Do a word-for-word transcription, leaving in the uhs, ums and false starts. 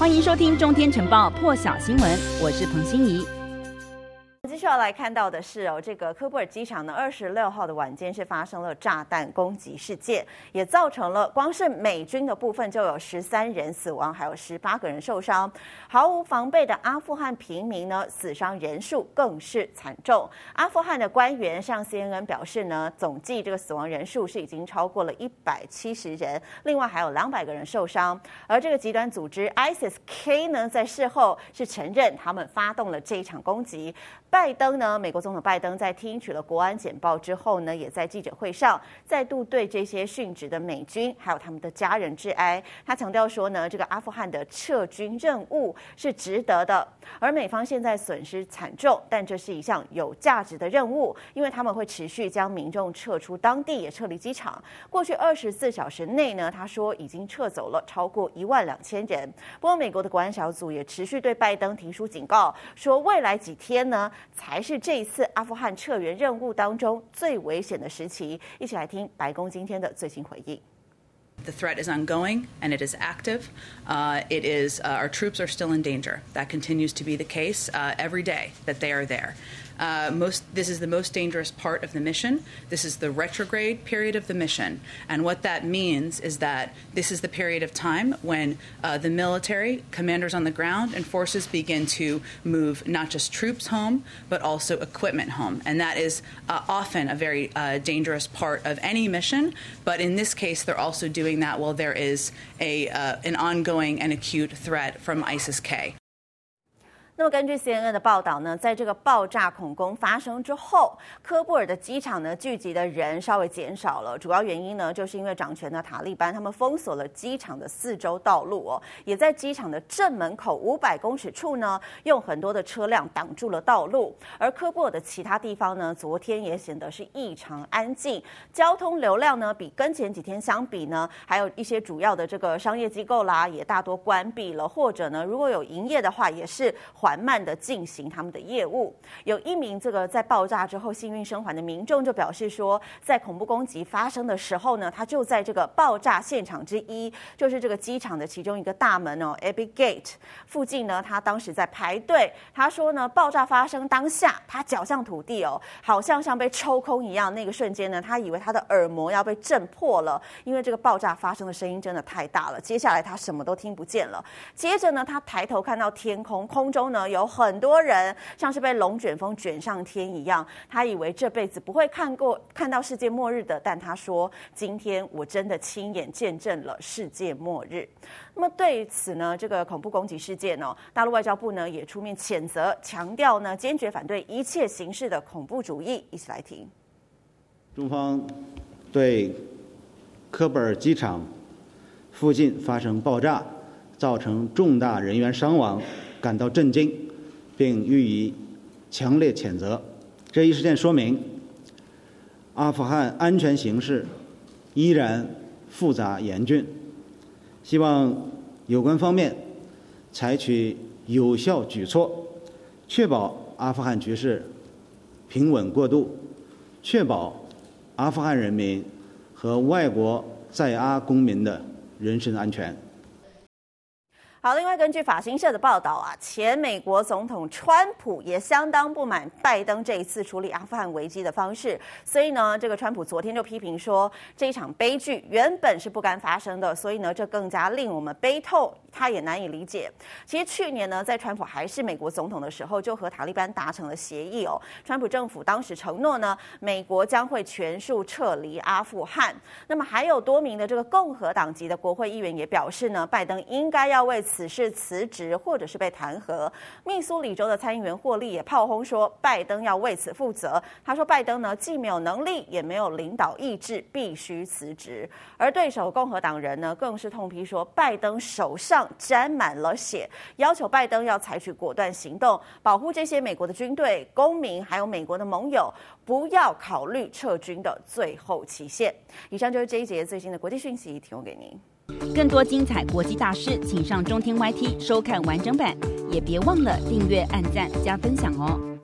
歡迎收聽中天晨報破曉新聞，我是彭欣怡。 繼續要來看到的是哦，這個科布爾機場呢，二十六號的晚間是發生了炸彈攻擊事件，也造成了光是美軍的部分就有十三人死亡，還有十八個人受傷。毫無防備的阿富汗平民呢，死傷人數更是慘重。阿富汗的官員向 C N N 表示呢，總計這個死亡人數是已經超過了一百七十人，另外還有兩百個人受傷。而這個極端組織 I S I S K 呢，在事後是承認他們發動了這一場攻擊。拜登呢，美國總統拜登在聽取了國安簡報之後呢，也在記者會上再度對這些殉職的美軍還有他們的家人致哀。他強調說呢，這個阿富汗的撤軍任務是值得的，而美方現在損失慘重，但這是一項有價值的任務，因為他們會持續將民眾撤出當地，也撤離機場。過去二十四小時內呢，他說已經撤走了超過一萬兩千人。不過，美國的國安小組也持續對拜登提出警告，說未來幾天呢，才是這一次阿富汗撤援任務當中最危險的時期。一起來聽白宮今天的最新回應。 The threat is ongoing and it is active. Uh, it is uh, our troops are still in danger. That continues to be the case uh, every day that they are there. Uh, most, this is the most dangerous part of the mission. This is the retrograde period of the mission. And what that means is that this is the period of time when uh, the military, commanders on the ground, and forces begin to move not just troops home, but also equipment home. And that is uh, often a very uh, dangerous part of any mission. But in this case, they're also doing that while there is a, uh, an ongoing and acute threat from I S I S K. 那麼根據 C N N 的報道呢，在這個爆炸恐攻發生之後，科布爾的機場呢聚集的人稍微減少了，主要原因呢就是因為掌權的塔利班他們封鎖了機場的四周道路哦，也在機場的正門口五百公尺處呢用很多的車輛擋住了道路，而科布爾的其他地方呢昨天也顯得是異常安靜，交通流量呢比跟前幾天相比呢，還有一些主要的這個商業機構啦也大多關閉了，或者呢如果有營業的話也是緩慢的進行他們的業務。有一名這個在爆炸之後幸運生還的民眾就表示說，在恐怖攻擊發生的時候呢，他就在這個爆炸現場之一，就是這個機場的其中一個大門哦 Abbey Gate 附近呢，他當時在排隊。他說呢，爆炸發生當下，他腳向土地哦，好像像被抽空一樣。那個瞬間呢，他以為他的耳膜要被震破了，因為這個爆炸發生的聲音真的太大了。接下來他什麼都聽不見了。接着呢，他抬頭看到天空，空中呢有很多人像是被龍捲風捲上天一樣，他以為這輩子不會看過看到世界末日的，但他說今天我真的親眼見證了世界末日。那麼對此呢，這個恐怖攻擊事件呢、哦，大陸外交部呢也出面譴責，強調呢堅決反對一切形式的恐怖主義。一起來聽。 中方對科布爾機場附近發生爆炸，造成重大人員傷亡感到震驚，並予以強烈譴責。這一事件說明，阿富汗安全形勢依然複雜嚴峻，希望有關方面採取有效舉措，確保阿富汗局勢平穩過渡，確保阿富汗人民和外國在阿公民的人身安全。 好，另外根據法新社的報道啊，前美國總統川普也相當不滿拜登這一次處理阿富汗危機的方式，所以呢，這個川普昨天就批評說，這一場悲劇原本是不該發生的，所以呢，這更加令我們悲痛，他也難以理解。其實去年呢，在川普還是美國總統的時候，就和塔利班達成了協議哦。川普政府當時承諾呢，美國將會全數撤離阿富汗。那麼還有多名的這個共和黨籍的國會議員也表示呢，拜登應該要為此事辭職或者是被彈劾。密蘇里州的參議員霍利也炮轟說，拜登要為此負責。他說，拜登呢既沒有能力，也沒有領導意志，必須辭職。而對手共和黨人呢，更是痛批說，拜登手上沾滿了血，要求拜登要採取果斷行動，保護這些美國的軍隊、公民，還有美國的盟友，不要考慮撤軍的最後期限。以上就是這一節最新的國際訊息，提供給您。 更多精彩國際大事，請上中天 Y T 收看完整版，也別忘了訂閱、按讚、加分享哦。